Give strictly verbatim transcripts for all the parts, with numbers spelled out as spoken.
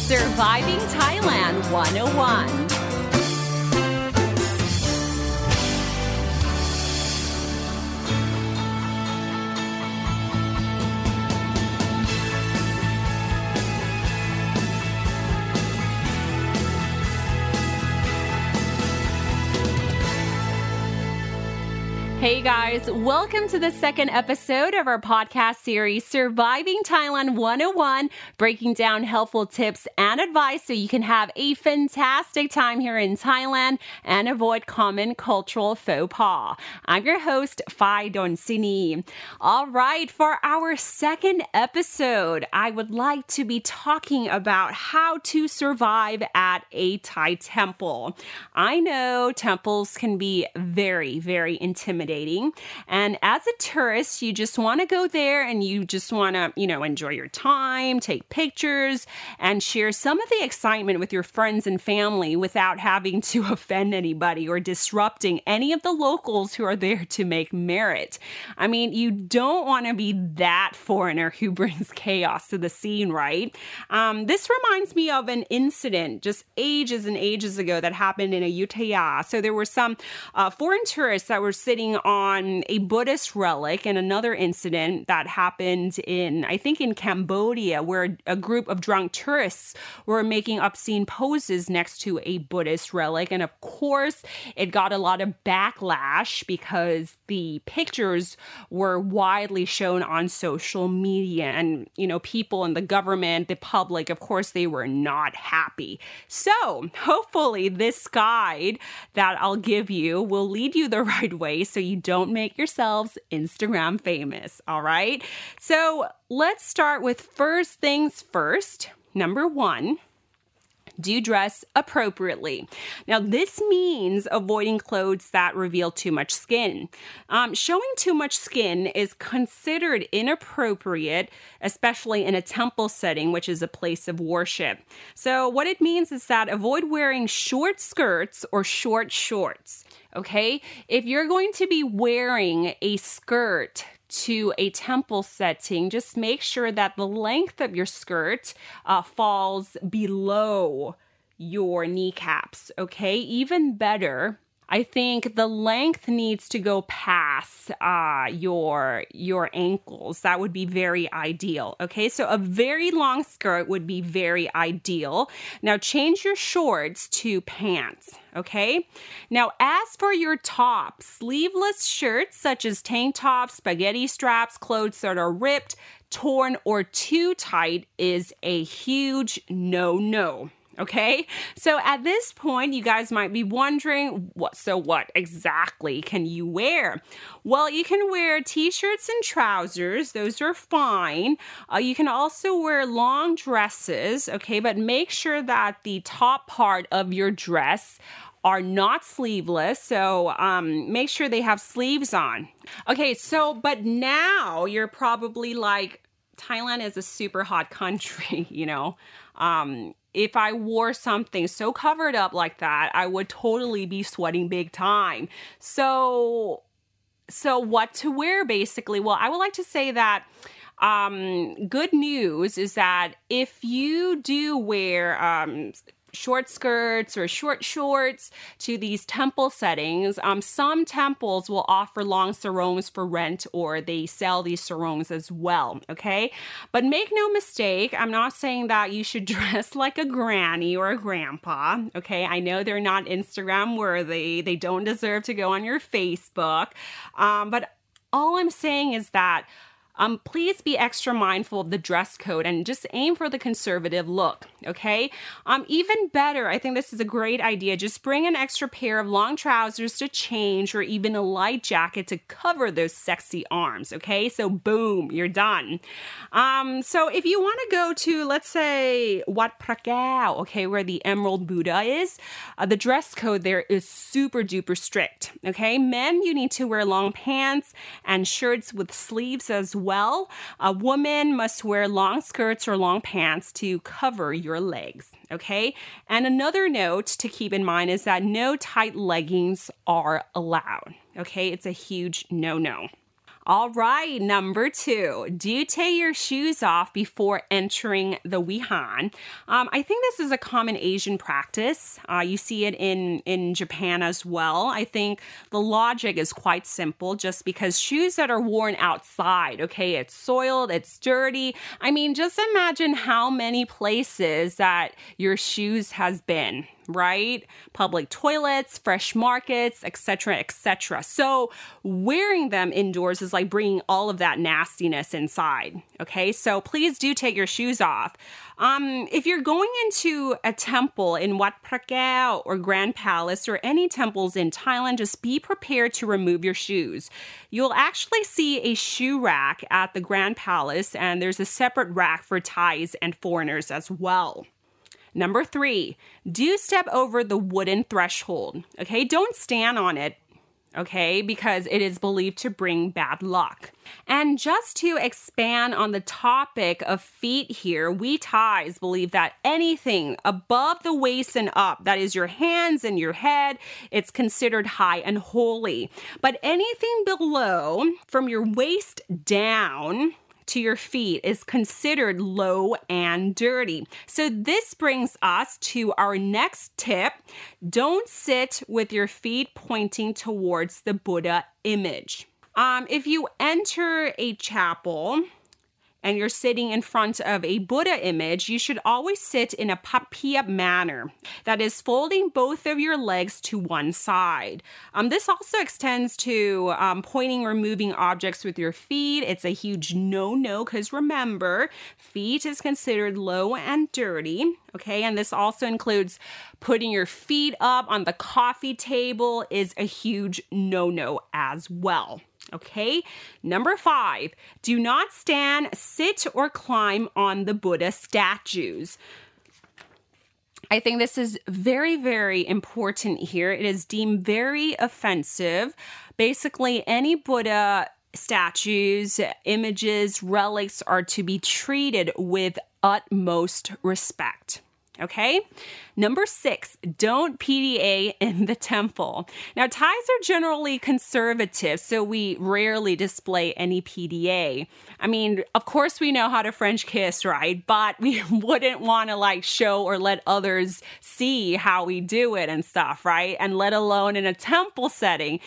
Surviving Thailand one oh one. Hey guys, welcome to the second episode of our podcast series, Surviving Thailand one oh one, breaking down helpful tips and advice so you can have a fantastic time here in Thailand and avoid common cultural faux pas. I'm your host, Phai Donsini. All right, for our second episode, I would like to be talking about how to survive at a Thai temple. I know temples can be very, very intimidating. And as a tourist, you just want to go there and you just want to, you know, enjoy your time, take pictures, and share some of the excitement with your friends and family without having to offend anybody or disrupting any of the locals who are there to make merit. I mean, you don't want to be that foreigner who brings chaos to the scene, right? Um, this reminds me of an incident just ages and ages ago that happened in Ayutthaya. So there were some uh, foreign tourists that were sitting on a Buddhist relic, and another incident that happened in, I think in Cambodia, where a group of drunk tourists were making obscene poses next to a Buddhist relic. And of course, it got a lot of backlash because the pictures were widely shown on social media. And, you know, people in the government, the public, of course, they were not happy. So hopefully this guide that I'll give you will lead you the right way so you don't make yourselves Instagram famous, all right? So let's start with first things first. Number one, do dress appropriately. Now, this means avoiding clothes that reveal too much skin. Um, showing too much skin is considered inappropriate, especially in a temple setting, which is a place of worship. So what it means is that avoid wearing short skirts or short shorts. Okay, if you're going to be wearing a skirt to a temple setting, just make sure that the length of your skirt uh, falls below your kneecaps. Okay, even better, I think the length needs to go past uh, your your ankles. That would be very ideal. Okay, so a very long skirt would be very ideal. Now change your shorts to pants. Okay, now as for your top, sleeveless shirts such as tank tops, spaghetti straps, clothes that are ripped, torn, or too tight is a huge no-no. Okay, so at this point, you guys might be wondering, what? So what exactly can you wear? Well, you can wear t-shirts and trousers. Those are fine. Uh, you can also wear long dresses, okay, but make sure that the top part of your dress are not sleeveless, so um, make sure they have sleeves on. Okay, so, but now you're probably like, Thailand is a super hot country, you know. Um, if I wore something so covered up like that, I would totally be sweating big time. So, so what to wear basically? Well, I would like to say that um, good news is that if you do wear um, short skirts or short shorts to these temple settings, um, some temples will offer long sarongs for rent, or they sell these sarongs as well, okay? But make no mistake, I'm not saying that you should dress like a granny or a grandpa, okay? I know they're not Instagram worthy. They don't deserve to go on your Facebook. Um, but all I'm saying is that Um, please be extra mindful of the dress code and just aim for the conservative look, okay? Um, even better, I think this is a great idea. Just bring an extra pair of long trousers to change, or even a light jacket to cover those sexy arms, okay? So boom, you're done. Um, so if you want to go to, let's say, Wat Phra Kaew, okay, where the Emerald Buddha is, uh, the dress code there is super duper strict, okay? Men, you need to wear long pants and shirts with sleeves as well. Well, a woman must wear long skirts or long pants to cover your legs, okay? And another note to keep in mind is that no tight leggings are allowed, okay? It's a huge no-no. All right, number two, do you take your shoes off before entering the Wihan? Um, I think this is a common Asian practice. Uh, you see it in, in Japan as well. I think the logic is quite simple, just because shoes that are worn outside, okay, it's soiled, it's dirty. I mean, just imagine how many places that your shoes has been, right? Public toilets, fresh markets, et cetera, et cetera. So wearing them indoors is like bringing all of that nastiness inside. Okay, so please do take your shoes off. Um, if you're going into a temple in Wat Phra Kaew or Grand Palace or any temples in Thailand, just be prepared to remove your shoes. You'll actually see a shoe rack at the Grand Palace, and there's a separate rack for Thais and foreigners as well. Number three, do step over the wooden threshold, okay? Don't stand on it, okay? Because it is believed to bring bad luck. And just to expand on the topic of feet here, we Thais believe that anything above the waist and up, that is your hands and your head, it's considered high and holy. But anything below, from your waist down to your feet, is considered low and dirty. So this brings us to our next tip. Don't sit with your feet pointing towards the Buddha image. Um, if you enter a chapel and you're sitting in front of a Buddha image, you should always sit in a papiap manner. That is, folding both of your legs to one side. Um, this also extends to um, pointing or moving objects with your feet. It's a huge no-no because remember, feet is considered low and dirty. Okay, and this also includes putting your feet up on the coffee table is a huge no-no as well. Okay, number five, do not stand, sit, or climb on the Buddha statues. I think this is very, very important here. It is deemed very offensive. Basically, any Buddha statues, images, relics are to be treated with utmost respect. Okay, number six, don't P D A in the temple. Now, Thais are generally conservative, so we rarely display any P D A. I mean, of course we know how to French kiss, right? But we wouldn't want to like show or let others see how we do it and stuff, right? And let alone in a temple setting.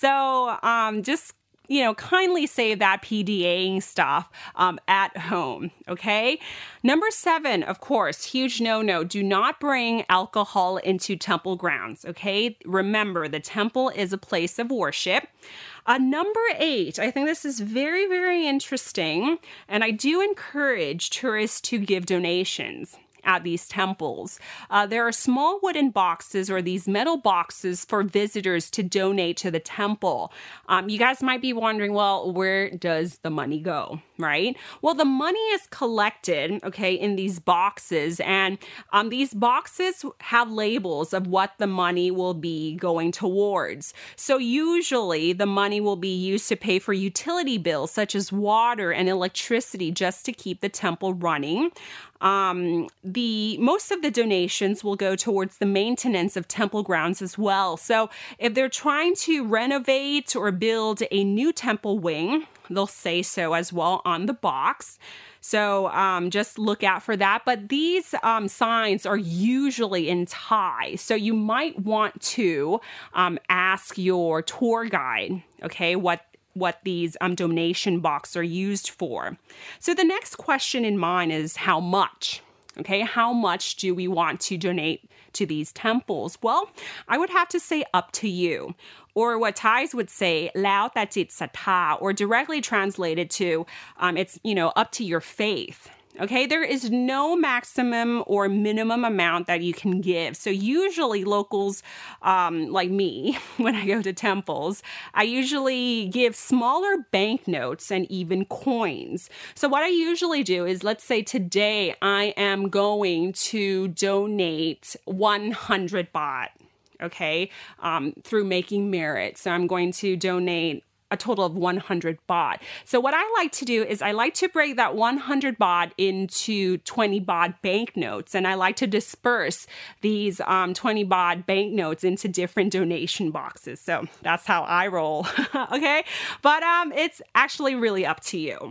So um, just you know, kindly save that PDAing stuff um, at home, okay? Number seven, of course, huge no-no. Do not bring alcohol into temple grounds, okay? Remember, the temple is a place of worship. Uh, number eight, I think this is very, very interesting, and I do encourage tourists to give donations at these temples. Uh, there are small wooden boxes or these metal boxes for visitors to donate to the temple. Um, you guys might be wondering, well, where does the money go, right? Well, the money is collected, okay, in these boxes, and um, these boxes have labels of what the money will be going towards. So usually the money will be used to pay for utility bills such as water and electricity just to keep the temple running. Um, the most of the donations will go towards the maintenance of temple grounds as well. So if they're trying to renovate or build a new temple wing, they'll say so as well on the box. So um, just look out for that. But these um, signs are usually in Thai. So you might want to um, ask your tour guide, okay, what what these um, donation boxes are used for. So the next question in mind is how much? Okay, how much do we want to donate to these temples? Well, I would have to say up to you. Or what Thais would say, lao ta jit sattha, or directly translated to, um, it's, you know, up to your faith. Okay, there is no maximum or minimum amount that you can give. So usually locals um, like me, when I go to temples, I usually give smaller banknotes and even coins. So what I usually do is, let's say today I am going to donate one hundred baht, okay, um, through Making Merit. So I'm going to donate a total of one hundred baht. So what I like to do is I like to break that one hundred baht into twenty baht banknotes, and I like to disperse these um, twenty baht banknotes into different donation boxes. So that's how I roll, okay? But um, it's actually really up to you.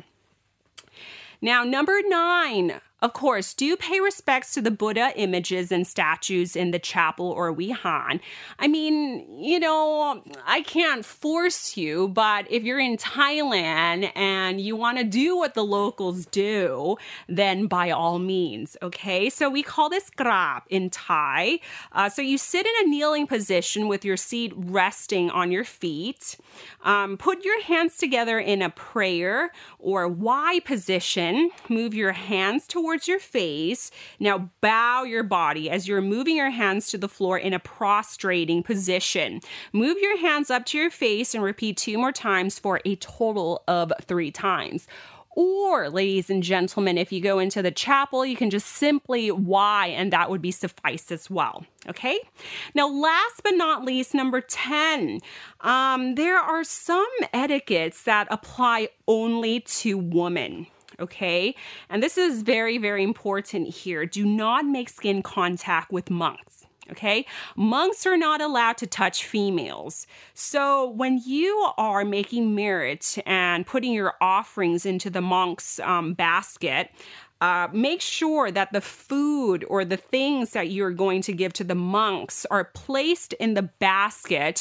Now, number nine, of course, do pay respects to the Buddha images and statues in the chapel or Wihan. I mean, you know, I can't force you, but if you're in Thailand and you want to do what the locals do, then by all means, okay? So we call this grab in Thai. Uh, so you sit in a kneeling position with your seat resting on your feet. Um, put your hands together in a prayer or Y position. Move your hands towards your face. Now bow your body as you're moving your hands to the floor in a prostrating position. Move your hands up to your face and repeat two more times for a total of three times. Or, ladies and gentlemen, if you go into the chapel, you can just simply Y, and that would be suffice as well. Okay? Now, last but not least, number ten, um, there are some etiquettes that apply only to women. Okay? And this is very, very important here. Do not make skin contact with monks. Okay? Monks are not allowed to touch females. So when you are making merit and putting your offerings into the monk's um, basket, Uh, make sure that the food or the things that you're going to give to the monks are placed in the basket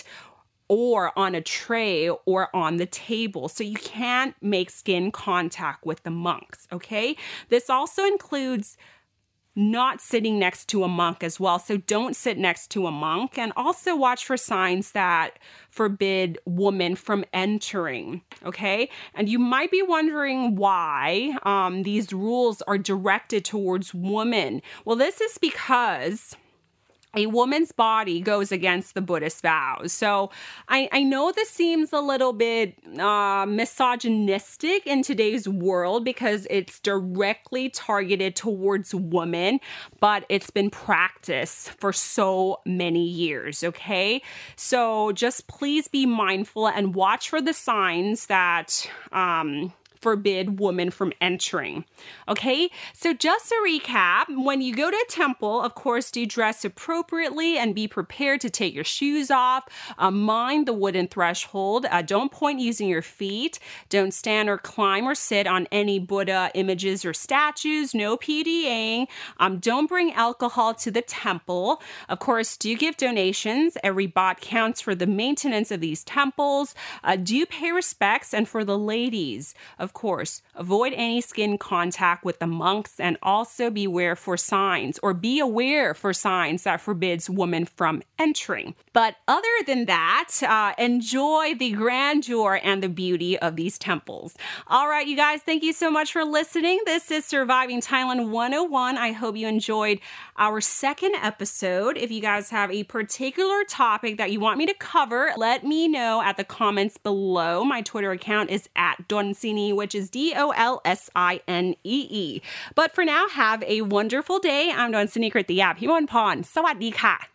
or on a tray or on the table. So you can't make skin contact with the monks, okay? This also includes not sitting next to a monk as well. So don't sit next to a monk, and also watch for signs that forbid women from entering, okay? And you might be wondering why um, these rules are directed towards women. Well, this is because a woman's body goes against the Buddhist vows. So I, I know this seems a little bit uh, misogynistic in today's world because it's directly targeted towards women, but it's been practiced for so many years, okay? So just please be mindful and watch for the signs that Um, forbid women from entering. Okay, so just a recap, when you go to a temple, of course, do dress appropriately and be prepared to take your shoes off. Uh, mind the wooden threshold. Uh, don't point using your feet. Don't stand or climb or sit on any Buddha images or statues. No PDAing. Um, don't bring alcohol to the temple. Of course, do give donations. Every baht counts for the maintenance of these temples. Uh, do pay respects. And for the ladies, of Of course, avoid any skin contact with the monks, and also beware for signs or be aware for signs that forbids women from entering. But other than that, uh, enjoy the grandeur and the beauty of these temples. All right, you guys, thank you so much for listening. This is Surviving Thailand one oh one. I hope you enjoyed our second episode. If you guys have a particular topic that you want me to cover, let me know at the comments below. My Twitter account is at Donsini, which is D O L S I N E E. But for now, have a wonderful day. I'm Donsini Kritiyap Himon Pon. สวัสดีค่ะ